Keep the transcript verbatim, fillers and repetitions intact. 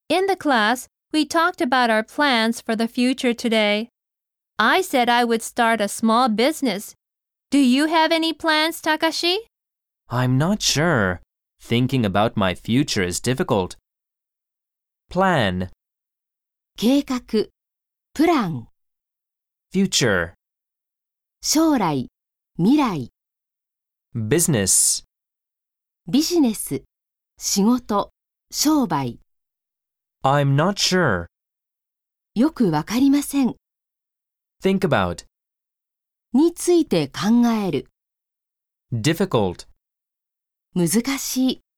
In the class, we talked about our plans for the future today. I said I would start a small business. Do you have any plans, Takashi? I'm not sure. Thinking about my future is difficult. Plan, 計画、プラン、 future, 将来、未来、 business, ビジネス、仕事、商売。 I'm not sure. よくわかりません。 Think about, について考える。 difficult. 難しい。